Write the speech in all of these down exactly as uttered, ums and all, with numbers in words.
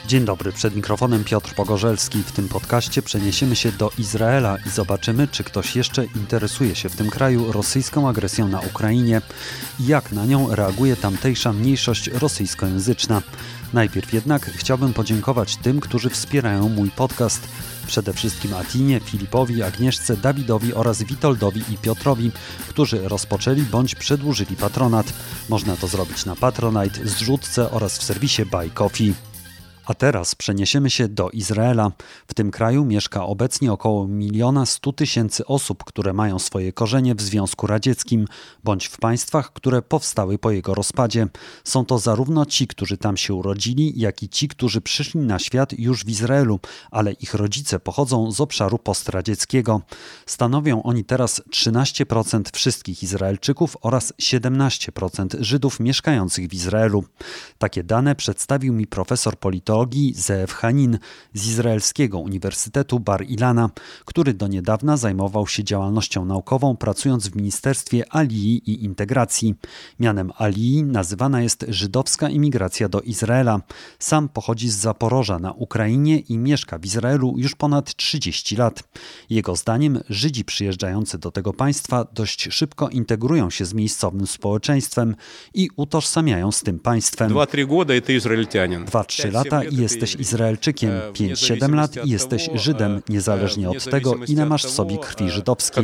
Dzień dobry, przed mikrofonem Piotr Pogorzelski. W tym podcaście przeniesiemy się do Izraela i zobaczymy, czy ktoś jeszcze interesuje się w tym kraju rosyjską agresją na Ukrainie i jak na nią reaguje tamtejsza mniejszość rosyjskojęzyczna. Najpierw jednak chciałbym podziękować tym, którzy wspierają mój podcast. Przede wszystkim Atinie, Filipowi, Agnieszce, Dawidowi oraz Witoldowi i Piotrowi, którzy rozpoczęli bądź przedłużyli patronat. Można to zrobić na Patronite, zrzutce oraz w serwisie Buy Coffee. A teraz przeniesiemy się do Izraela. W tym kraju mieszka obecnie około miliona stu tysięcy osób, które mają swoje korzenie w Związku Radzieckim, bądź w państwach, które powstały po jego rozpadzie. Są to zarówno ci, którzy tam się urodzili, jak i ci, którzy przyszli na świat już w Izraelu, ale ich rodzice pochodzą z obszaru postradzieckiego. Stanowią oni teraz trzynaście procent wszystkich Izraelczyków oraz siedemnaście procent Żydów mieszkających w Izraelu. Takie dane przedstawił mi profesor politologii Zeev Hanin z Izraelskiego Uniwersytetu Bar Ilana, który do niedawna zajmował się działalnością naukową, pracując w Ministerstwie Alii i Integracji. Mianem Alii nazywana jest żydowska imigracja do Izraela. Sam pochodzi z Zaporoża na Ukrainie i mieszka w Izraelu już ponad trzydzieści lat. Jego zdaniem Żydzi przyjeżdżający do tego państwa dość szybko integrują się z miejscowym społeczeństwem i utożsamiają z tym państwem. dwa-trzy года это израильтянин. dwa trzy lata i jesteś Izraelczykiem, pięć siedem lat i jesteś Żydem, niezależnie od tego, ile masz w sobie krwi żydowskiej.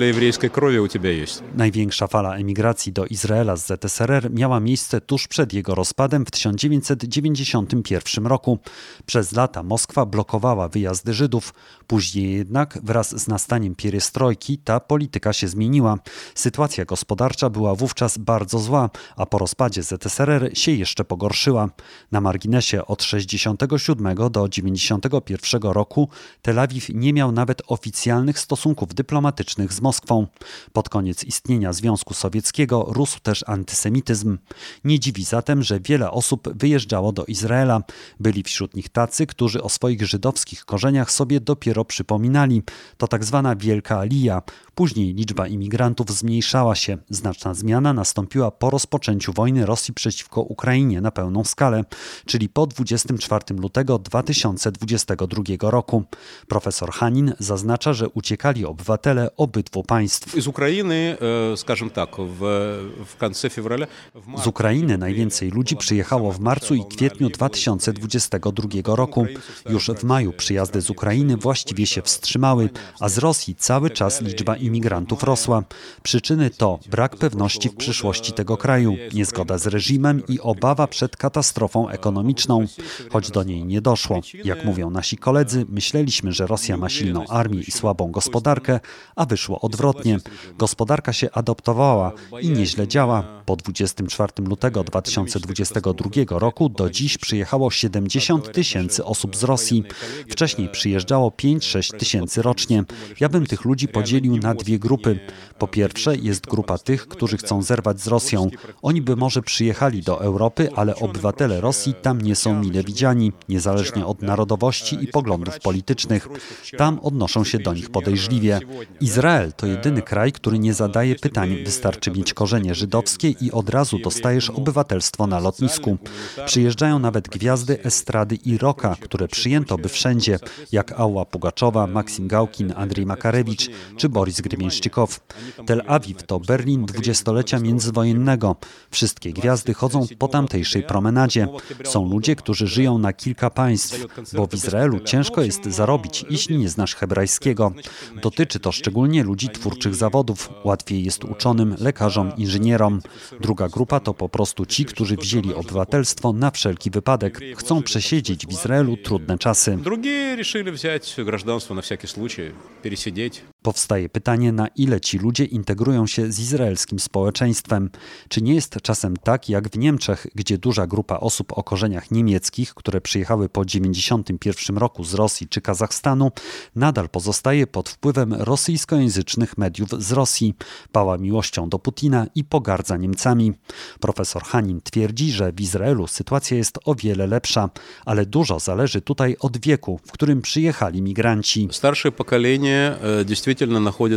Największa fala emigracji do Izraela z Z S R R miała miejsce tuż przed jego rozpadem w tysiąc dziewięćset dziewięćdziesiątym pierwszym roku. Przez lata Moskwa blokowała wyjazdy Żydów. Później jednak wraz z nastaniem pierestrojki ta polityka się zmieniła. Sytuacja gospodarcza była wówczas bardzo zła, a po rozpadzie Z S R R się jeszcze pogorszyła. Na marginesie od sześćdziesiątego siódmego do dziewięćdziesiątego pierwszego roku Tel Awiw nie miał nawet oficjalnych stosunków dyplomatycznych z Moskwą. Pod koniec istnienia Związku Sowieckiego rósł też antysemityzm. Nie dziwi zatem, że wiele osób wyjeżdżało do Izraela. Byli wśród nich tacy, którzy o swoich żydowskich korzeniach sobie dopiero przypominali. To tak zwana Wielka Alija. Później liczba imigrantów zmniejszała się. Znaczna zmiana nastąpiła po rozpoczęciu wojny Rosji przeciwko Ukrainie na pełną skalę, czyli po dwudziestego czwartego lutego dwa tysiące dwudziestego drugiego roku. Profesor Hanin zaznacza, że uciekali obywatele obydwu państw. Z Ukrainy, скажем tak, w, w końcu fewraля... Z Ukrainy najwięcej ludzi przyjechało w marcu i kwietniu dwa tysiące dwudziestego drugiego roku. Już w maju przyjazdy z Ukrainy właściwie się wstrzymały, a z Rosji cały czas liczba imigrantów rosła. Przyczyny to brak pewności w przyszłości tego kraju, niezgoda z reżimem i obawa przed katastrofą ekonomiczną. Choć do niej nie doszło. Jak mówią nasi koledzy, myśleliśmy, że Rosja ma silną armię i słabą gospodarkę, a wyszło odwrotnie. Gospodarka się adoptowała i nieźle działa. Po dwudziestego czwartego lutego dwa tysiące dwudziestego drugiego roku do dziś przyjechało siedemdziesiąt tysięcy osób z Rosji. Wcześniej przyjeżdżało pięć sześć tysięcy rocznie. Ja bym tych ludzi podzielił na dwie grupy. Po pierwsze jest grupa tych, którzy chcą zerwać z Rosją. Oni by może przyjechali do Europy, ale obywatele Rosji tam nie są mile widziani, niezależnie od narodowości i poglądów politycznych. Tam odnoszą się do nich podejrzliwie. Izrael to jedyny kraj, który nie zadaje pytań. Wystarczy mieć korzenie żydowskie i od razu dostajesz obywatelstwo na lotnisku. Przyjeżdżają nawet gwiazdy estrady i rocka, które przyjęto by wszędzie, jak Alla Pugaczowa, Maksim Gałkin, Andrzej Makarewicz czy Boris Gremieńszczykow. Tel Awiw to Berlin dwudziestolecia międzywojennego. Wszystkie gwiazdy chodzą po tamtejszej promenadzie. Są ludzie, którzy żyją na kilka państw, bo w Izraelu ciężko jest zarobić, jeśli nie znasz hebrajskiego. Dotyczy to szczególnie ludzi twórczych zawodów. Łatwiej jest uczonym, lekarzom, inżynierom. Druga grupa to po prostu ci, którzy wzięli obywatelstwo na wszelki wypadek. Chcą przesiedzieć w Izraelu trudne czasy. Drugie решили взять гражданство на всякий случай, пересидеть. Powstaje pytanie, na ile ci ludzie integrują się z izraelskim społeczeństwem. Czy nie jest czasem tak, jak w Niemczech, gdzie duża grupa osób o korzeniach niemieckich, które przyjechały po dziewięćdziesiątym pierwszym roku z Rosji czy Kazachstanu, nadal pozostaje pod wpływem rosyjskojęzycznych mediów z Rosji, pała miłością do Putina i pogardza Niemcami. Profesor Hanin twierdzi, że w Izraelu sytuacja jest o wiele lepsza, ale dużo zależy tutaj od wieku, w którym przyjechali migranci. Starsze pokolenie действительно находится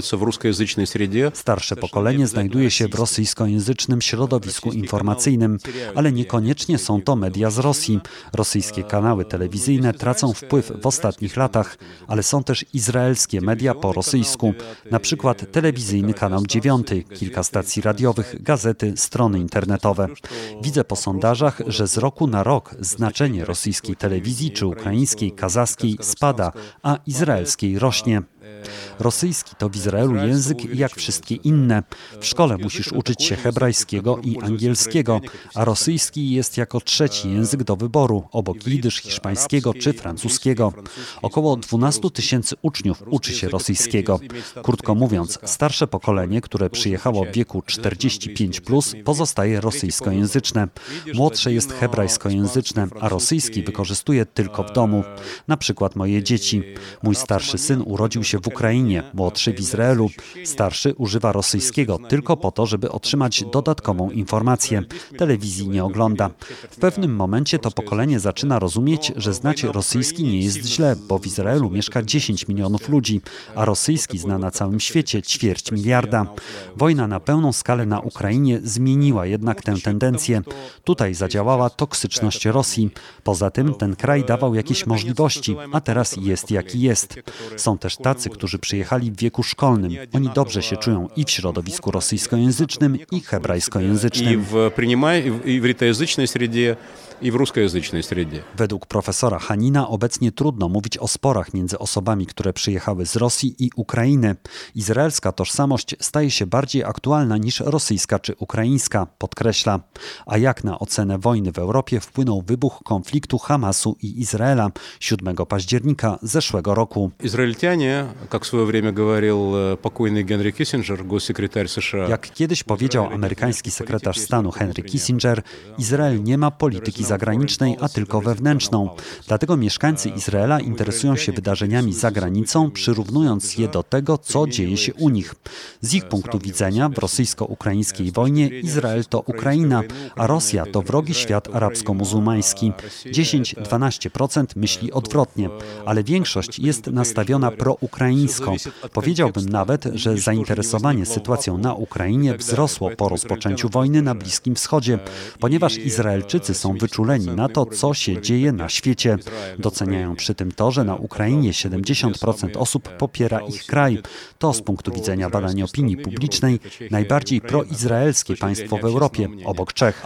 находятся в русскоязычной среде. Starsze pokolenie znajduje się w rosyjskojęzycznym środowisku informacyjnym, ale niekoniecznie są to media z Rosji. Rosyjskie kanały telewizyjne tracą wpływ w ostatnich latach, ale są też izraelskie media po rosyjsku, na przykład telewizyjny kanał dziewiąty, kilka stacji radiowych, gazety, strony internetowe. Widzę po sondażach, że z roku na rok znaczenie rosyjskiej telewizji czy ukraińskiej, kazachskiej spada, a izraelskiej rośnie. Rosyjski to w Izraelu język jak wszystkie inne. W szkole musisz uczyć się hebrajskiego i angielskiego, a rosyjski jest jako trzeci język do wyboru, obok jidysz, hiszpańskiego czy francuskiego. Około dwanaście tysięcy uczniów uczy się rosyjskiego. Krótko mówiąc, starsze pokolenie, które przyjechało w wieku czterdzieści pięć plus, pozostaje rosyjskojęzyczne. Młodsze jest hebrajskojęzyczne, a rosyjski wykorzystuje tylko w domu. Na przykład moje dzieci. Mój starszy syn urodził się w Ukrainie, młodszy w Izraelu. Starszy używa rosyjskiego tylko po to, żeby otrzymać dodatkową informację. Telewizji nie ogląda. W pewnym momencie to pokolenie zaczyna rozumieć, że znać rosyjski nie jest źle, bo w Izraelu mieszka dziesięć milionów ludzi, a rosyjski zna na całym świecie ćwierć miliarda. Wojna na pełną skalę na Ukrainie zmieniła jednak tę tendencję. Tutaj zadziałała toksyczność Rosji. Poza tym ten kraj dawał jakieś możliwości, a teraz jest jaki jest. Są też tacy, którzy przyjechali w wieku szkolnym. Oni dobrze się czują i w środowisku rosyjskojęzycznym, i hebrajskojęzycznym. I w ивритоязычной среде, i w ruskojęzycznej sredzie. Według profesora Hanina obecnie trudno mówić o sporach między osobami, które przyjechały z Rosji i Ukrainy. Izraelska tożsamość staje się bardziej aktualna niż rosyjska czy ukraińska, podkreśla. A jak na ocenę wojny w Europie wpłynął wybuch konfliktu Hamasu i Izraela siódmego października zeszłego roku. Izraelitanie, jak w swoje время говорил покойный Генри Киссинджер, госсекретарь США. Jak kiedyś powiedział amerykański sekretarz stanu Henry Kissinger, Izrael nie ma polityki zagranicznej, a tylko wewnętrzną. Dlatego mieszkańcy Izraela interesują się wydarzeniami za granicą, przyrównując je do tego, co dzieje się u nich. Z ich punktu widzenia w rosyjsko-ukraińskiej wojnie Izrael to Ukraina, a Rosja to wrogi świat arabsko-muzułmański. dziesięć do dwunastu procent myśli odwrotnie, ale większość jest nastawiona proukraińsko. Powiedziałbym nawet, że zainteresowanie sytuacją na Ukrainie wzrosło po rozpoczęciu wojny na Bliskim Wschodzie, ponieważ Izraelczycy są wyczuleni na to, co się dzieje na świecie. Doceniają przy tym to, że na Ukrainie siedemdziesiąt procent osób popiera ich kraj. To z punktu widzenia badań opinii publicznej najbardziej proizraelskie państwo w Europie, obok Czech.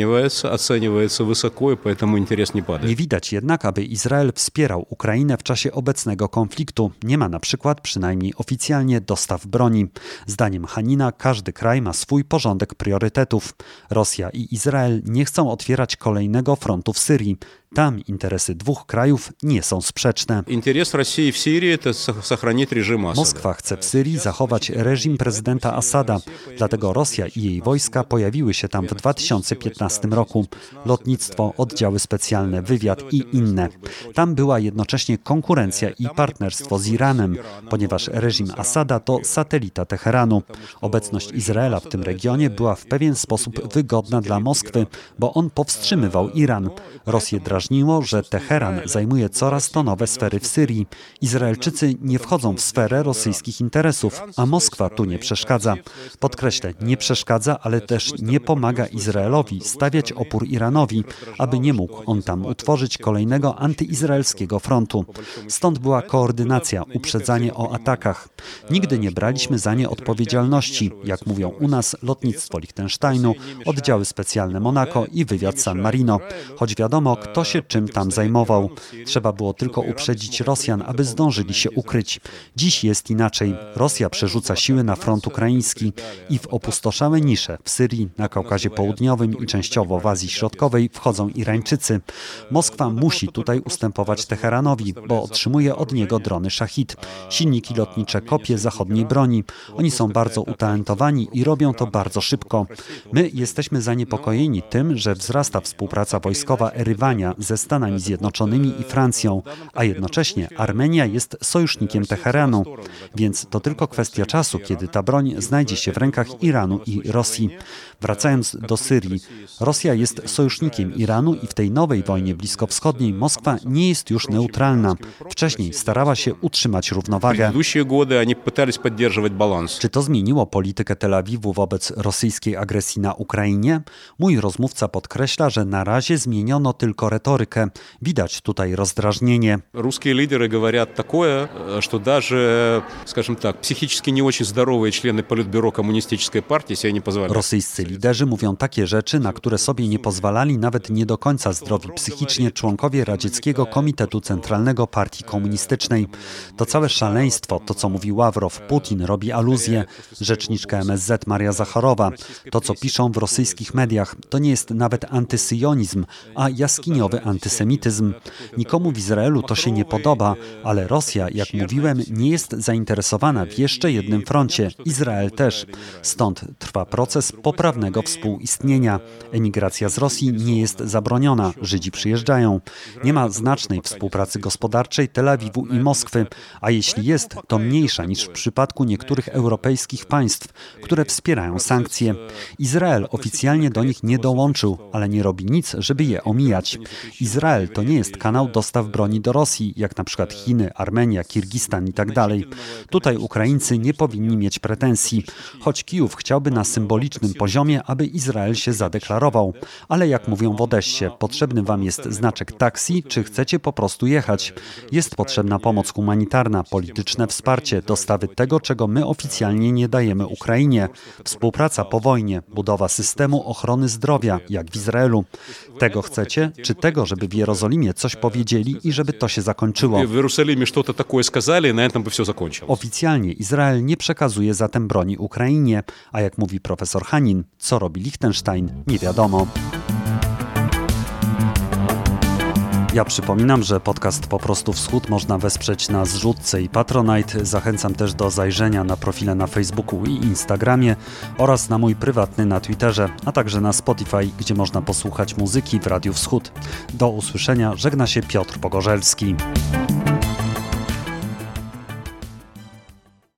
Nie widać jednak, aby Izrael wspierał Ukrainę w czasie obecnego konfliktu. Nie ma na przykład, przynajmniej oficjalnie, dostaw broni. Zdaniem Hanina każdy kraj ma swój porządek priorytetów. Rosja i Izrael nie chcą otwierać kolejnego frontu w Syrii. Tam interesy dwóch krajów nie są sprzeczne. Interes Rosji w Syrii to сохранить reżim Asada. Moskwa chce w Syrii zachować reżim prezydenta Asada. Dlatego Rosja i jej wojska pojawiły się tam w dwa tysiące piętnastym roku. Lotnictwo, oddziały specjalne, wywiad i inne. Tam była jednocześnie konkurencja i partnerstwo z Iranem, ponieważ reżim Asada to satelita Teheranu. Obecność Izraela w tym regionie była w pewien sposób wygodna dla Moskwy, bo on powstrzymywał Iran. Rosję drażniło, że Teheran zajmuje coraz to nowe sfery w Syrii. Izraelczycy nie wchodzą w sferę rosyjskich interesów, a Moskwa tu nie przeszkadza. Podkreślę, nie przeszkadza, ale też nie pomaga Izraelowi stawiać opór Iranowi, aby nie mógł on tam utworzyć kolejnego antyizraelskiego frontu. Stąd była koordynacja, uprzedzanie o atakach. Nigdy nie braliśmy za nie odpowiedzialności, jak mówią u nas lotnictwo Liechtensteinu, oddziały specjalne Monako i wywiad San Marino. Choć wiadomo, kto się czym tam zajmował. Trzeba było tylko uprzedzić Rosjan, aby zdążyli się ukryć. Dziś jest inaczej. Rosja przerzuca siły na front ukraiński i w opustoszałe nisze w Syrii, na Kaukazie Południowym i częściowo w Azji Środkowej wchodzą Irańczycy. Moskwa musi tutaj ustępować Teheranowi, bo otrzymuje od niego drony Szachid, silniki lotnicze, kopie zachodniej broni. Oni są bardzo utalentowani i robią to bardzo szybko. My jesteśmy zaniepokojeni tym, że wzrasta współpraca wojskowa Erywania Armenia ze Stanami Zjednoczonymi i Francją, a jednocześnie Armenia jest sojusznikiem Teheranu, więc to tylko kwestia czasu, kiedy ta broń znajdzie się w rękach Iranu i Rosji. Wracając do Syrii, Rosja jest sojusznikiem Iranu i w tej nowej wojnie bliskowschodniej Moskwa nie jest już neutralna. Wcześniej starała się utrzymać równowagę. Czy to zmieniło politykę Tel Awiwu wobec rosyjskiej agresji na Ukrainie? Mój rozmówca podkreśla, że na razie zmieniono tylko retorykę. Widać tutaj rozdrażnienie. Ruskie lidery говорят такое, что даже, скажем так, психически не очень здоровые члены Политбюро коммунистической партии себе не позволяют. Rosyjscy liderzy mówią takie rzeczy, na które sobie nie pozwalali nawet nie do końca zdrowi psychicznie członkowie Radzieckiego Komitetu Centralnego Partii Komunistycznej. To całe szaleństwo, to co mówi Ławrow, Putin robi aluzję, rzeczniczka M S Z Maria Zacharowa. To co piszą w rosyjskich mediach, to nie jest nawet antysyjonizm, a jaskiniowy antysemityzm. Nikomu w Izraelu to się nie podoba, ale Rosja, jak mówiłem, nie jest zainteresowana w jeszcze jednym froncie. Izrael też. Stąd trwa proces poprawnego współistnienia. Emigracja z Rosji nie jest zabroniona. Żydzi przyjeżdżają. Nie ma znacznej współpracy gospodarczej Tel Awiwu i Moskwy, a jeśli jest, to mniejsza niż w przypadku niektórych europejskich państw, które wspierają sankcje. Izrael oficjalnie do nich nie dołączył, ale nie robi nic, żeby je omijać. Izrael to nie jest kanał dostaw broni do Rosji, jak na przykład Chiny, Armenia, Kirgistan i tak dalej. Tutaj Ukraińcy nie powinni mieć pretensji, choć Kijów chciałby na symbolicznym poziomie, aby Izrael się zadeklarował. Ale jak mówią w Odessie, potrzebny wam jest znaczek taksi, czy chcecie po prostu jechać. Jest potrzebna pomoc humanitarna, polityczne wsparcie, dostawy tego, czego my oficjalnie nie dajemy Ukrainie. Współpraca po wojnie, budowa systemu ochrony zdrowia, jak w Izraelu. Tego chcecie, czy tego, żeby w Jerozolimie coś powiedzieli i żeby to się zakończyło? W Jerozolimie что-то такое сказали, и на этом бы все закончилось. Oficjalnie Izrael nie przekazuje zatem broni Ukrainie, a jak mówi profesor Hanin, co robi Liechtenstein, nie wiadomo. Ja przypominam, że podcast Po prostu Wschód można wesprzeć na Zrzutce i Patronite. Zachęcam też do zajrzenia na profile na Facebooku i Instagramie oraz na mój prywatny na Twitterze, a także na Spotify, gdzie można posłuchać muzyki w Radiu Wschód. Do usłyszenia, żegna się Piotr Pogorzelski.